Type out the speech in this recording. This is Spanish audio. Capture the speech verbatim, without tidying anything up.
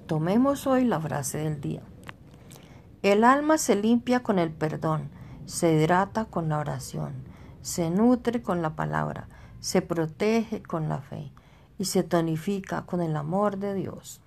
Tomemos hoy la frase del día. El alma se limpia con el perdón, se hidrata con la oración, se nutre con la palabra, se protege con la fe y se tonifica con el amor de Dios.